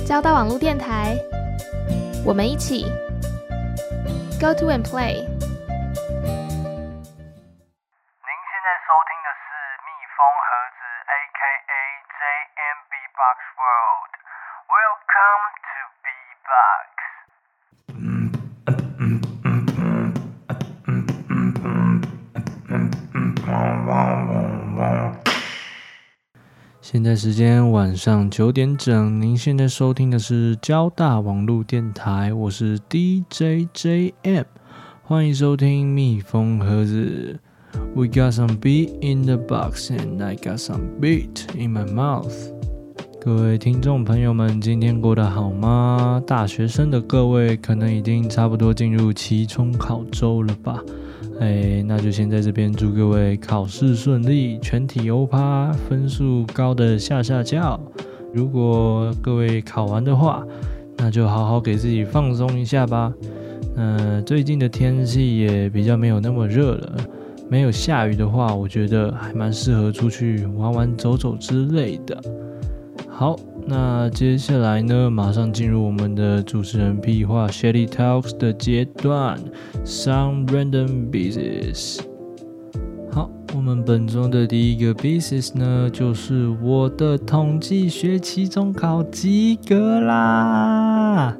交大網絡電台，我們一起 Go to and play。 您現在收聽的是蜜蜂盒子 AKA JMB Box World。Welcome to B Box。 现在時間晚上9點整，您現在收聽的是交大網絡電台，我是 DJ JM， 歡迎收聽蜜蜂盒子。We got some beat in the box and I got some beat in my mouth。 各位聽眾朋友們，今天過得好嗎？大學生的各位可能已經差不多進入期中考周了吧？那就先在這邊祝各位考試順利，全體歐趴，分數高的嚇叫。如果各位考完的話，那就好好給自己放鬆一下吧。最近的天氣也比較沒有那麼熱了，沒有下雨的話，我覺得還蠻適合出去玩玩走走之類的。好，那接下來呢，馬上進入我們的主持人屁話 Shady Talks 的階段 ，Some Random Business。好，我們本周的第一個 business 呢，就是我的統計學期中考及格啦！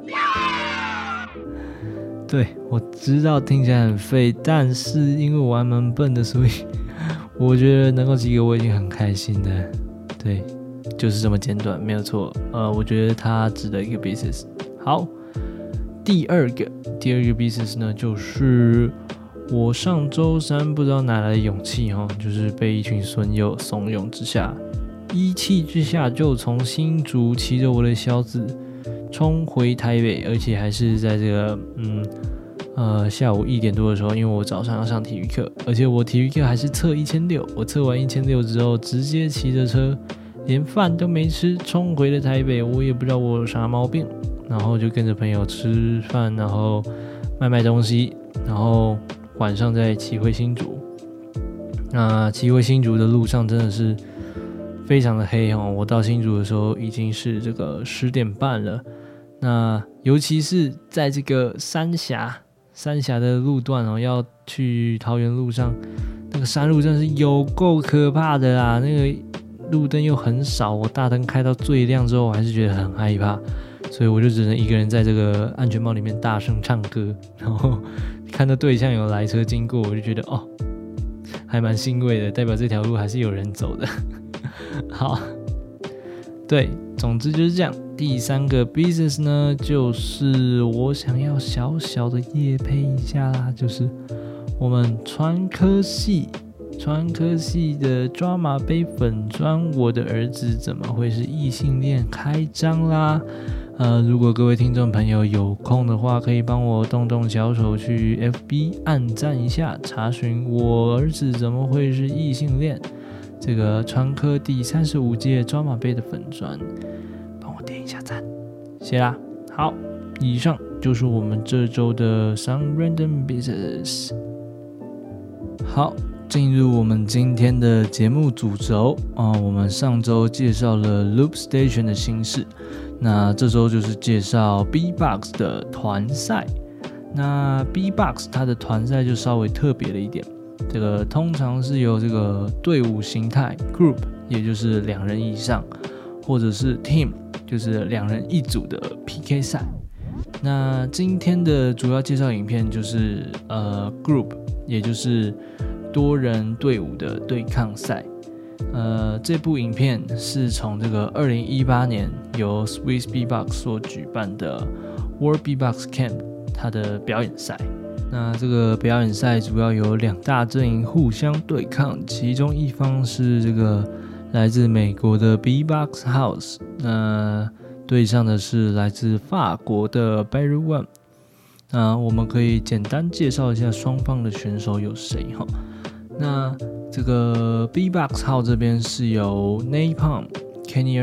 對，我知道聽起來很廢，但是因為我還蠻笨的，所以我覺得能夠及格我已經很開心了。對。就是這麼簡短，沒有錯。我覺得它值得一個 business。好，第二個 business 呢，就是我上周三不知道哪來的勇氣就是被一群損友慫恿之下，一氣之下就從新竹騎着我的小子衝回台北，而且還是在這個下午1點多的時候，因為我早上要上體育課，而且我體育課還是測1600，我測完1600之後直接騎着車。連飯都沒吃，衝回了台北，我也不知道我有啥毛病，然後就跟着朋友吃飯，然後賣東西，然後晚上再騎回新竹。那騎回新竹的路上真的是非常的黑我到新竹的時候已經是這個10點半了。那尤其是在這個三峽的路段要去桃園路上，那個山路真的是有夠可怕的啦，那個。路燈又很少，我大燈開到最亮之後，我還是覺得很害怕，所以我就只能一個人在這個安全帽裡面大聲唱歌，然後看到對向有來車經過，我就覺得還蠻欣慰的，代表這條路還是有人走的。好，對，總之就是這樣。第三個 business 呢，就是我想要小小的業配一下啦，就是我們傳科系的抓馬杯粉專，我的兒子怎麼會是異性戀開張啦！如果各位聽眾朋友有空的話，可以幫我動動小手去 FB 按讚一下，查詢我兒子怎麼會是異性戀這個傳科第35屆抓馬杯的粉專，幫我點一下讚，謝啦！好，以上就是我們這周的 Some Random Business。好。進入我們今天的節目主軸我們上周介紹了 Loop Station 的新事，那這周就是介紹 B-Box 的團賽。那 B-Box 它的團賽就稍微特別了一點，這個通常是由這個隊伍形態 Group， 也就是2人以上，或者是 Team， 就是2人一組的 PK 賽。那今天的主要介紹影片就是Group， 也就是多人隊伍的對抗賽。這部影片是從這個2018年由 Swiss B-Box 所舉辦的 World B-Box Camp 它的表演賽。那這個表演賽主要有2大陣營互相對抗，其中一方是這個來自美國的 B-Box House， 那對上的是來自法國的 Barry One。那我們可以簡單介紹一下雙方的選手有誰哈。那這個 B-Box 號這邊是由 Napalm、Kenny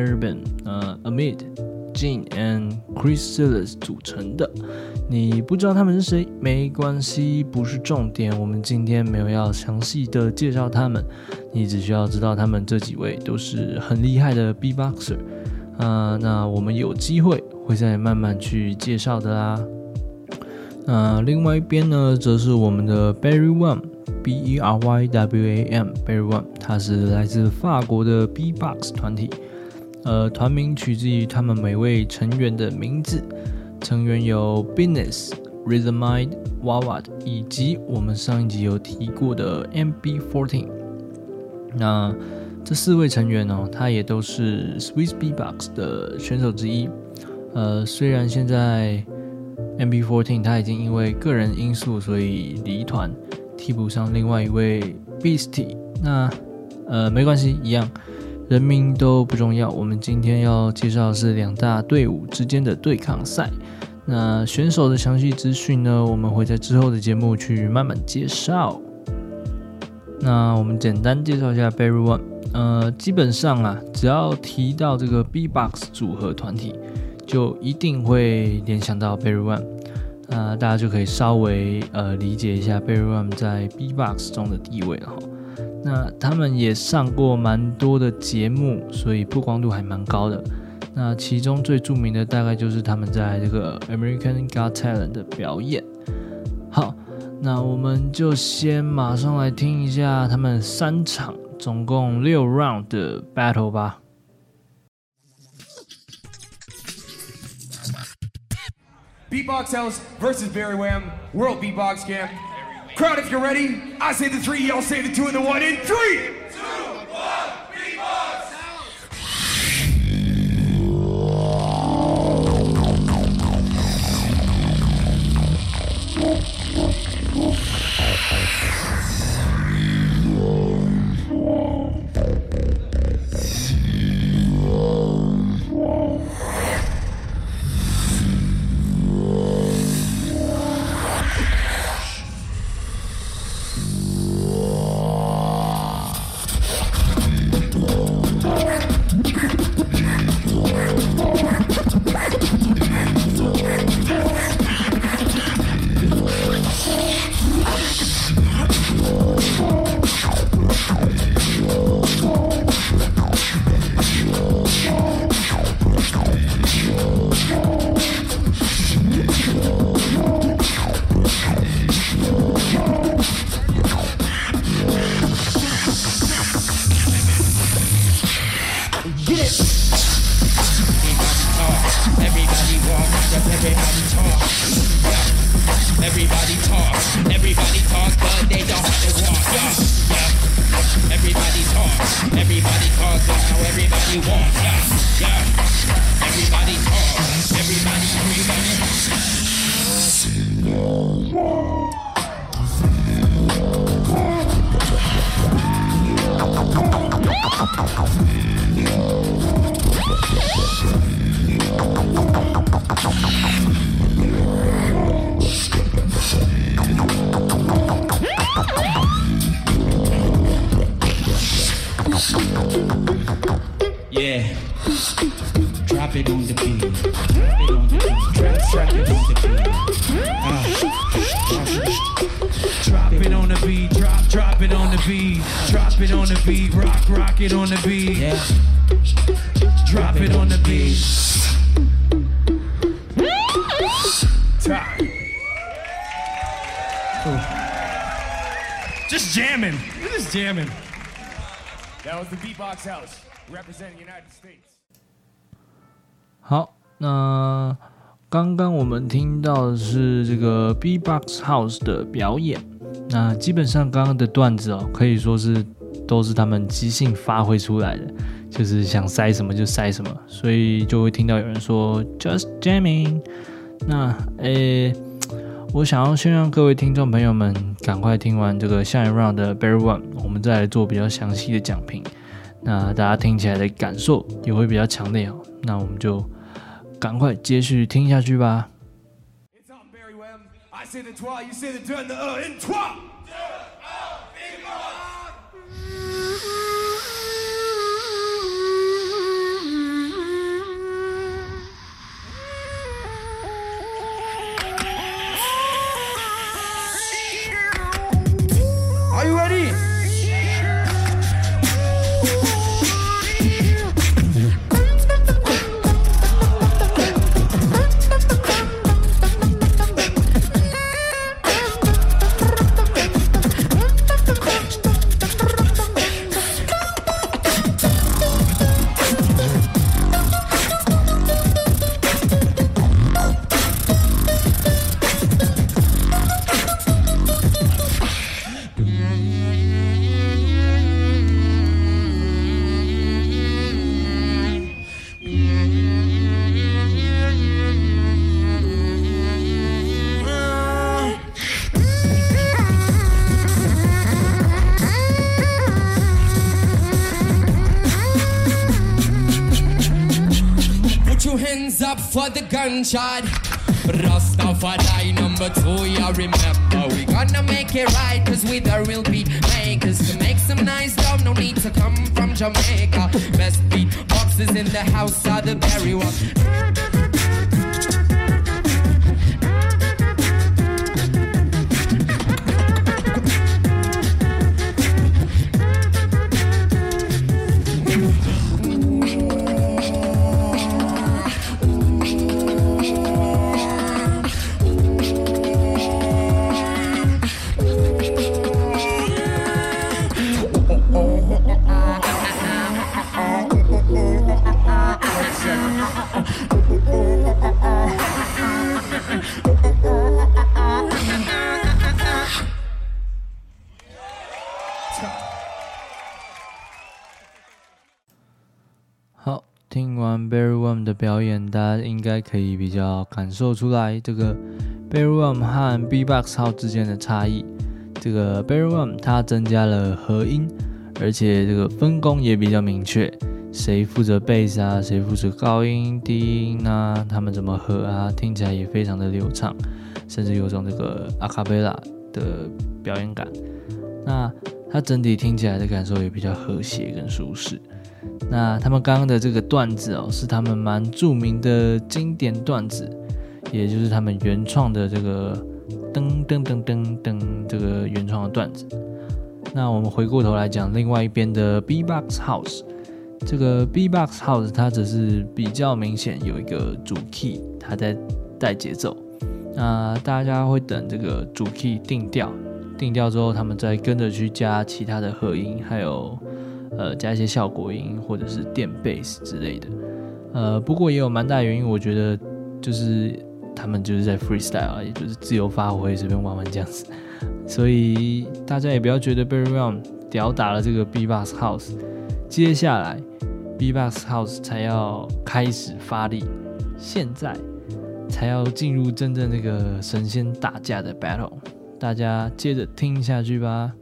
Urban、Amit、Gene and Chris Silas 組成的。你不知道他們是誰沒關係，不是重點。我們今天沒有要詳細的介紹他們，你只需要知道他們這幾位都是很厲害的 B-Boxer。 那我們有機會會再慢慢去介紹的啦。另外一邊呢，則是我們的 Berrywam，B-E-R-Y-W-A-M Berrywam， 它是來自法國的 B-Box 團體。團名取自於他們每位成員的名字，成員有 Business、Rhythmide、Wawad 以及我們上一集有提過的 MB14。那這4位成員哦，他也都是 Swiss B-Box 的選手之一。雖然現在 MB14 他已經因為個人因素，所以離團，替補上另外一位 Beastie。那沒關係，一樣。人名都不重要，我們今天要介紹的是2大隊伍之間的對抗賽。那選手的詳細資訊呢，我們會在之後的節目去慢慢介紹。那我們簡單介紹一下 Berrywam。基本上啊，只要提到這個 B-Box 組合團體，就一定會聯想到 Berrywam。大家就可以稍微理解一下 Berrywam 在 B-Box 中的地位了哈。那他們也上過蠻多的節目，所以曝光度還蠻高的。那其中最著名的大概就是他們在這個 American Got Talent 的表演。好，那我們就先馬上來聽一下他們3場總共6 round 的 battle 吧。 B-Box House versus Berrywam World B-Box Camp. Crowd, if you're ready, I say the 3, y'all say the 2 and the 1 in 3, 2, 1, B-Box Yeah, drop it on the beat. Drop it on the beat. Drop it on the beat. Drop it on the beat. Drop it on the beat. Rock it on the beat. Yeah. Drop it on the beat. Time. Just jamming. We're just jamming. That was the B-Box House representing the United States. 好，那刚刚我們聽到的是這個 B-Box House 的表演。那基本上剛剛的段子哦，可以說是都是他們即興發揮出來的，就是想塞什麼就塞什麼，所以就會聽到有人說 Just jamming。那我想要先讓各位聽眾朋友們趕快聽完這個下一 round 的 Berrywam， 我們再來做比較詳細的講評。那大家聽起來的感受也會比較強烈哦。那我們就趕快接續聽下去吧。 It's on Berrywam. I say the 3, you say the 2 and the in 3. Are you ready? two hands up for the gunshot. Rastafari number 2, you remember. We gonna make it right, cause we the real beat makers. To make some nice love, no need to come from Jamaica. Best beat boxes in the house are the berry one. 好，听完 Barry Wham 的表演，大家应該可以比較感受出來這個 Barry Wham 和 B-Box House 之間的差異。這個 Barry Wham 它增加了和音，而且這個分工也比較明確，誰負責貝斯啊，誰負責高音、低音啊，他們怎麼合啊，聽起來也非常的流暢，甚至有種這個阿卡貝拉的表演感。那它整體聽起來的感受也比較和諧跟舒適。那他們剛剛的這個段子哦，是他們蠻著名的經典段子，也就是他們原創的這個噔噔噔噔噔這個原創的段子。那我們回過頭來講另外一邊的 B-Box House， 這個 B-Box House 它只是比較明顯有一個主 key， 它在帶節奏。那大家會等這個主 key 定調之後，他們再跟着去加其他的和音，還有加一些效果音或者是電貝斯之類的。不過也有蠻大的原因，我覺得就是他們就是在 freestyle， 也就是自由發揮，隨便玩玩這樣子。所以大家也不要覺得 Barry Wham 吊打了這個 B-Box House， 接下來 B-Box House 才要開始發力，現在才要進入真正那個神仙打架的 battle， 大家接着聽下去吧。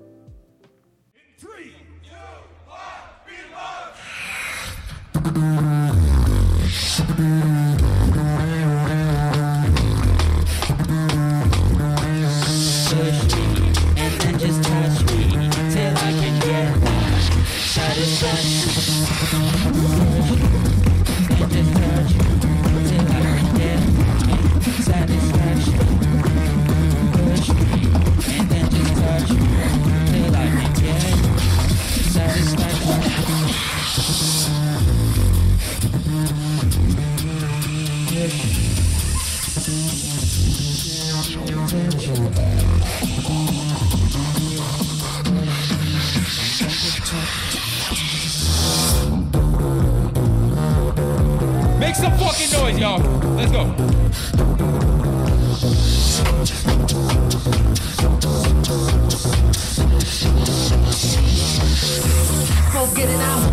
Make some fucking noise, y'all. Let's go. Go get it out.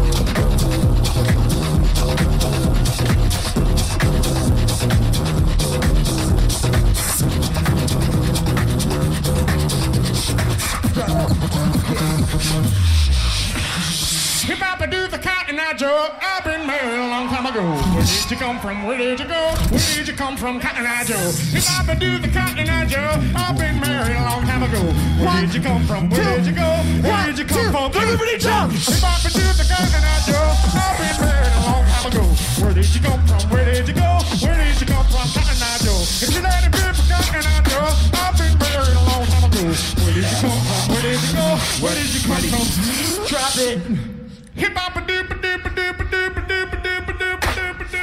Hip hop do the cotton eye Joe. I've been married a long time ago. Where did you come from? Where did you go? Where did you come from, Cotton Eye Joe? Hip hop do the cotton eye Joe. I've been married a long time ago. Where did you come from? Where did you go? Where did you come from? Everybody jump! Hip hop do the cotton eye Joe. I've been married a long time ago. Where did you come from? Where did you go? Where did you come from, Cotton Eye Joe? If you let it be for Cotton Eye Joe, I've been married a long time ago. Where did you come from? Where did you go? Where did you come from? Drop it. Hip hop a doop a doop a doop a doop a doop a doop a doop a doop a doop.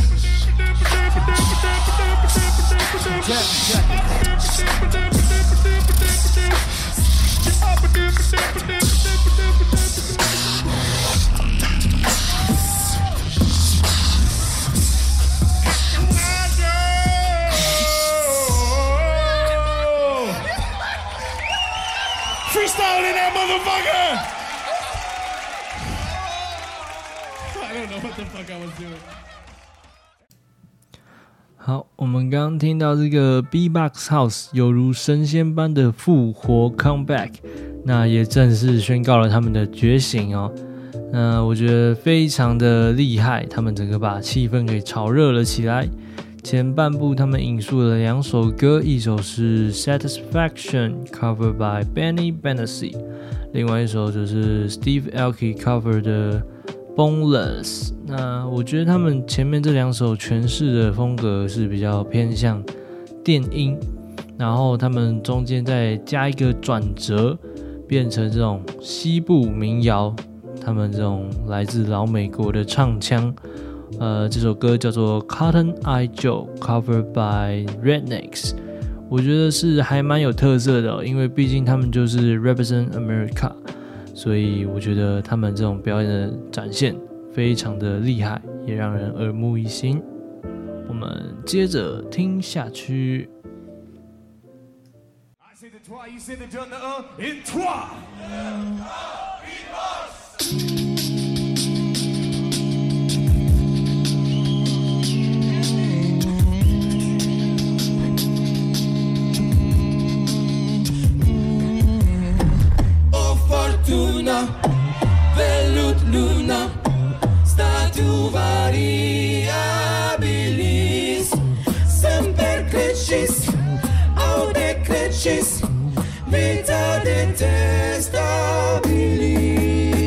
Freestyle in that motherfucker! I don't know what the fuck I was doing. 好，我們剛剛聽到這個 B-Box House 猶如神仙般的復活 comeback， 那也正式宣告了他們的覺醒哦。 我覺得非常的厲害，他們整個把氣氛給炒熱了起來。前半部他們引述了2首歌，一首是 Satisfaction cover by Benny Benassi， 另外一首就是 Steve Aoki cover 的 Boneless。那我覺得他們前面這2首詮釋的風格是比較偏向電音，然後他們中間再加一個轉折，變成這種西部民謠。他們這種來自老美國的唱腔，這首歌叫做 Cotton Eye Joe covered by Rednecks， 我覺得是還蠻有特色的因為畢竟他們就是 Represent America， 所以我覺得他們這種表演的展現非常的厲害，也讓人耳目一新。我們接着聽下去。 I say the trois, you say the deux, the un, in trois. Oh Fortuna, Velut Luna, Statu variabilis, semper crescis, aude crescis, vita detestabilis.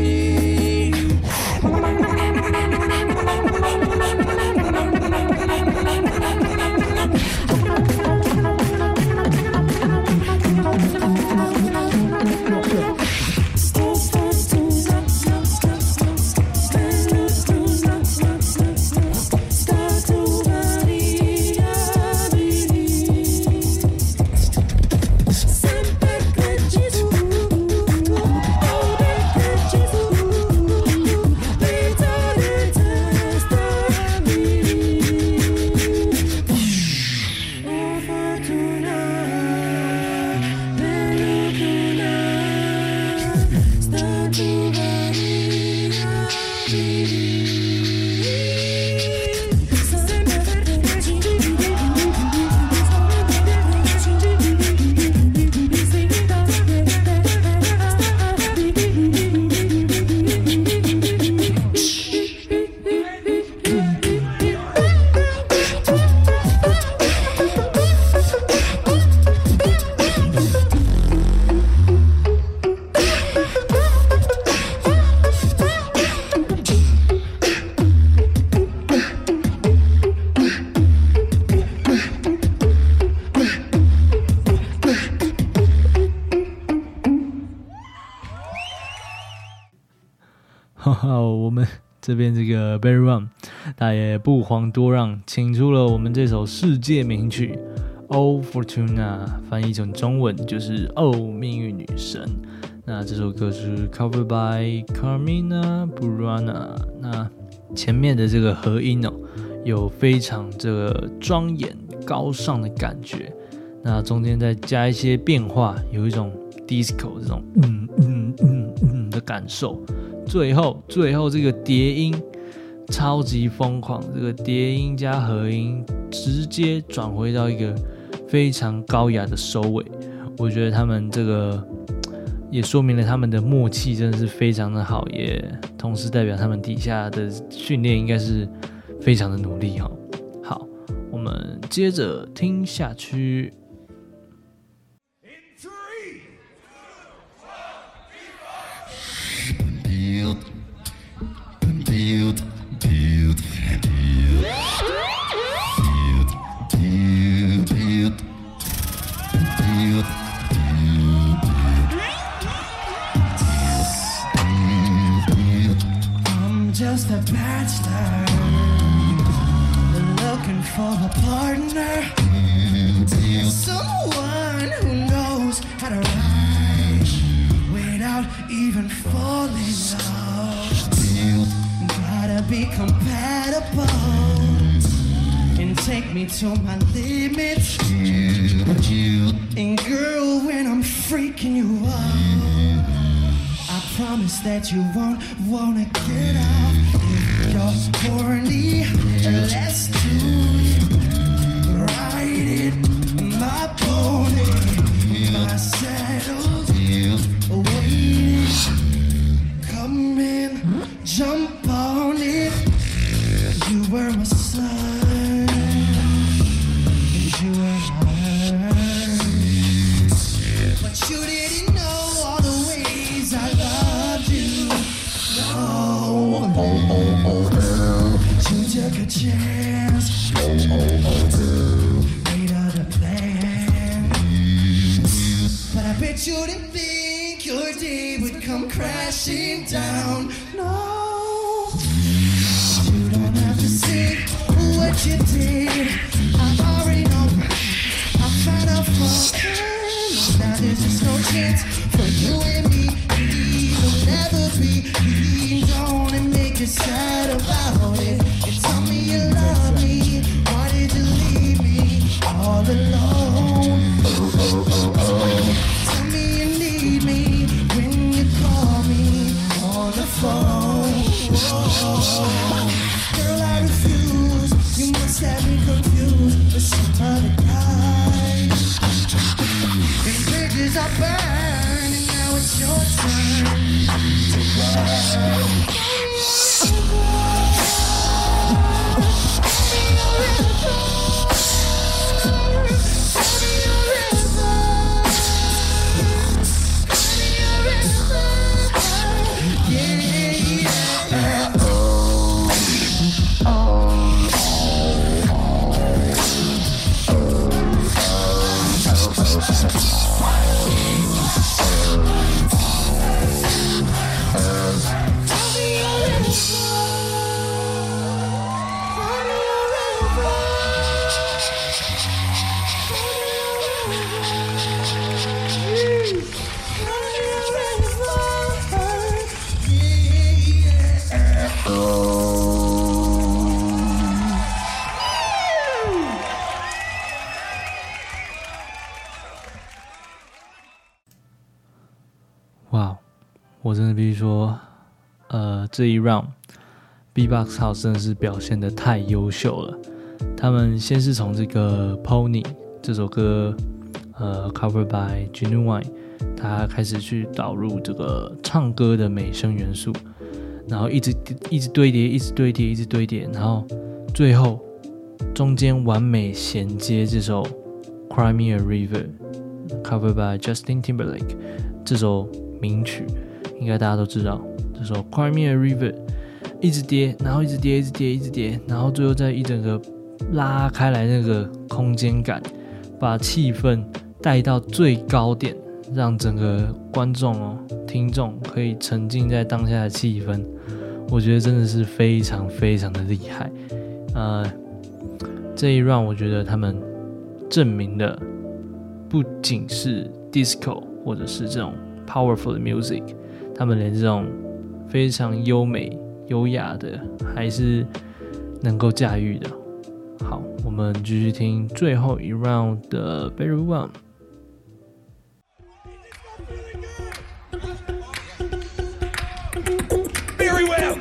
我们這邊這個 Barry One 他也不遑多讓，請出了我們這首世界名曲 Oh Fortuna， 翻譯成中文就是哦命運女神。那這首歌是 covered by Carmina Burana。那前面的這個和音有非常這個莊嚴高尚的感覺，那中間再加一些變化，有一種 disco 這種的感受。最後這個疊音超級瘋狂，這個疊音加和音直接轉回到一個非常高雅的收尾。我覺得他們這個也說明了他們的默契真的是非常的好，也同時代表他們底下的訓練應該是非常的努力。好，我們接着聽下去。 Just a bachelor, looking for a partner, someone who knows how to ride without even falling in love. Gotta be compatible and take me to my limits. And girl, when I'm freaking you out, I promise that you won't wanna get off. If you're horny, let's do it. Ride it, my pony, my saddle, waiting. Come in. You were my sun, you were my heart, but you didn't know all the ways I loved you. No, you took a chance, made other plans, but I bet you didn't think your day would come crashing down. No, you don't have to say what you did. I already know. I found out for now there's just no chance for you and me. We'll never be. Don't and make you sad about it. You tell me you love me. Why did you leave me all alone? Tell me you need me when you call me on the phone. Girl, I refuse. You must have me confused with some other guy. And bridges are burned, and now it's your turn to burn. 哇，我真的必须说，这一 round B-Box House 真的是表現得太優秀了。他們先是從這個 Pony 這首歌，cover by Genuine， 他開始去導入這個唱歌的美聲元素，然後一直堆疊，一直堆疊，一直堆疊，然後最後中間完美銜接這首 Cry Me a River，cover by Justin Timberlake 這首名曲，應該大家都知道。這首 Cry Me a River 一直疊，然後一直疊，一直疊，一直疊，然後最後再一整個拉開來那個空間感，把氣氛帶到最高點，讓整個觀眾聽眾可以沉浸在當下的氣氛。我覺得真的是非常非常的厲害。這一 round 我覺得他們證明了不僅是 disco 或者是這種 powerful 的 music， 他們連這種非常優美優雅的還是能夠駕馭的。好，我們繼續聽最後一 round 的 Very Well。 Very well.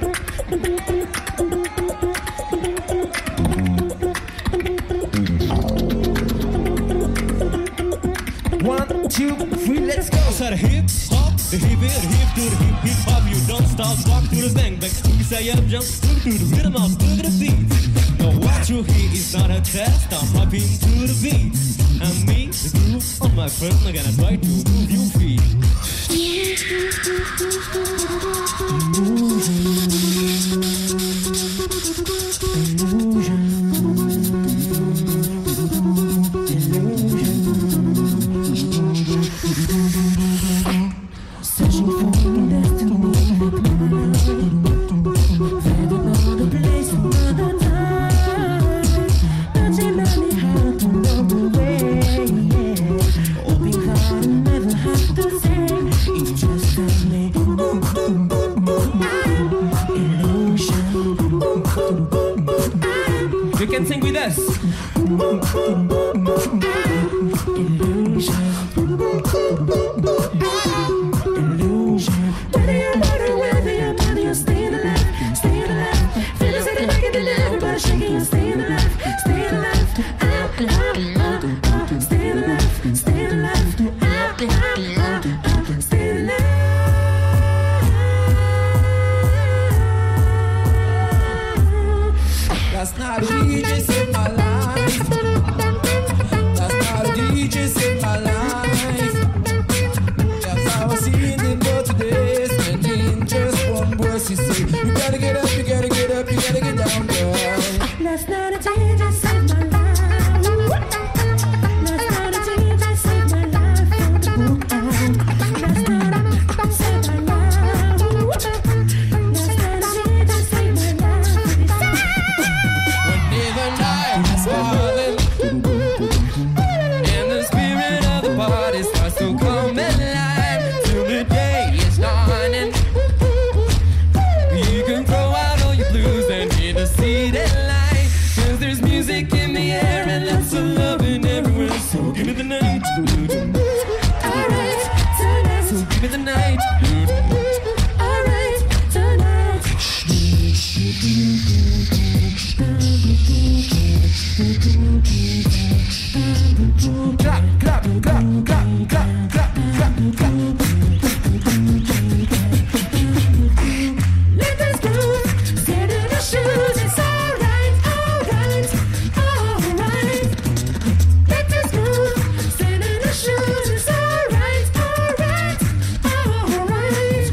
1, 2, 3, let's go. So the hip hop, the hip it, hip to the hip hip hop. You don't stop, rock to the bang bang. You say up, jump, to the rhythm of the beat. Now what you hear is not a test. I'm hopping to the beat. And me, the groove on my friend, I'm gonna try to move your feet. You can sing with us. Last night a DJ saved my life. Last night a DJ saved my life. That's how I seen it, but today spending just one verse. He say, you gotta get up, you gotta get up, you gotta get down, girl. Last night a DJ saved my life. Last night a DJ saved my life from the book. Last night I saved my life. Last night a DJ saved my life. When the night is falling and the spirit of the party starts to come alive till the day is dawning, you can throw out all your blues and hear the city light, 'cause there's music in the air and lots of loving everywhere. So give me the night, Alright, tonight. so give me the night. Alright, tonight. Clap, clap, clap, clap, clap, clap, clap, clap. Let us go. Stand in our shoes. It's alright, alright, alright. Let us go. Stand in our shoes. It's alright, alright, alright.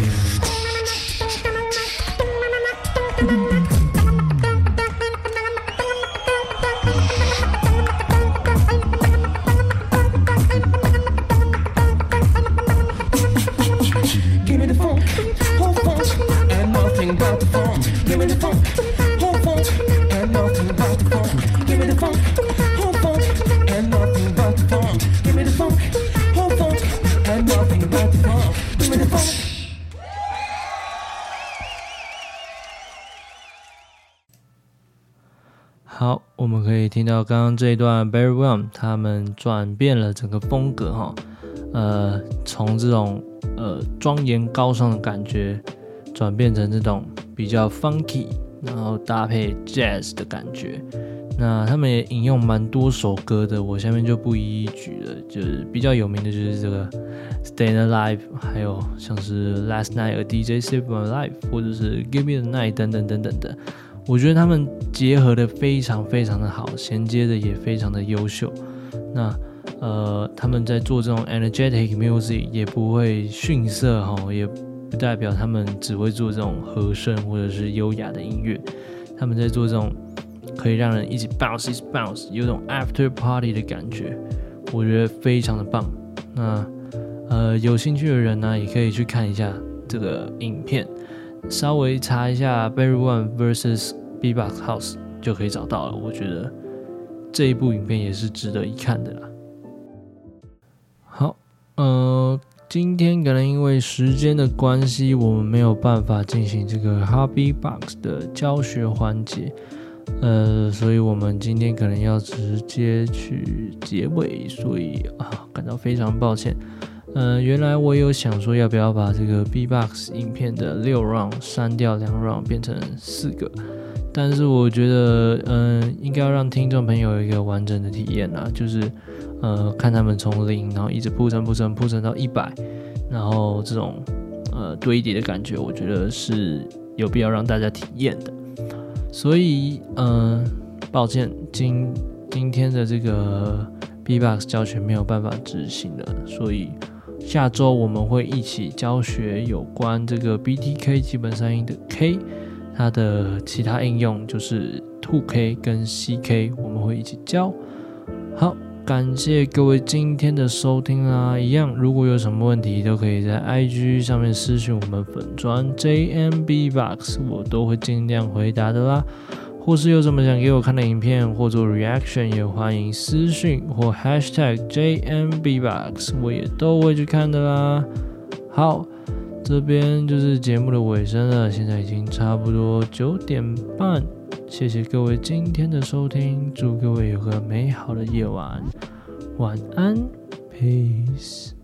Give me the funk, whole funk, and nothing about the funk. Give me the funk, whole funk, and nothing about the funk. Give me the funk, whole funk, and nothing about the funk. Give me the funk, whole funk, and nothing about the funk. Give me the funk. 好，我们可以听到刚刚这一段 Barry Whelan 他们轉變了整個風格哈，從這種莊嚴高尚的感覺轉變成這種比較 funky， 然後搭配 jazz 的感覺。那他們也引用蠻多首歌的，我下面就不一一舉了，就是比較有名的就是這個 Stayin' Alive， 還有像是 Last Night a DJ Saved My Life， 或者是 Give Me the Night 等等等等的。我覺得他們結合的非常非常的好，銜接的也非常的優秀。那他們在做這種 energetic music 也不會遜色哈，也不代表他們只會做這種和聲或者是優雅的音樂。他們在做這種可以讓人一起 bounce 一起 bounce， 有種 after party 的感覺，我覺得非常的棒。那有興趣的人呢，也可以去看一下這個影片。稍微查一下 Barry Whelan vs Beatbox House 就可以找到了，我覺得這一部影片也是值得一看的啦。好，今天可能因為時間的關係，我們沒有辦法進行這個 Hobby Box 的教學環節，所以我們今天可能要直接去結尾，所以感到非常抱歉。原來我有想說要不要把這個 B-Box 影片的6 round 刪掉2 round 變成4個，但是我覺得應該要讓聽眾朋友有一個完整的體驗啦，就是看他們從0然後一直鋪陳到100，然後這種堆疊的感覺，我覺得是有必要讓大家體驗的。所以抱歉，今天的這個 B-Box 教學沒有辦法執行了，所以下週我們會一起教學有關這個 BTK 基本三音的 K， 它的其他應用就是 2K 跟 CK， 我們會一起教。好，感謝各位今天的收聽啦！一樣，如果有什麼問題，都可以在 IG 上面私訊我們粉專 JMBbox， 我都會盡量回答的啦。或是有什麼想給我看的影片或做 reaction， 也歡迎私訊或 hashtag JMBbox， 我也都會去看的啦。好，這邊就是節目的尾聲了，現在已經差不多9點半，謝謝各位今天的收聽，祝各位有個美好的夜晚，晚安 ，peace。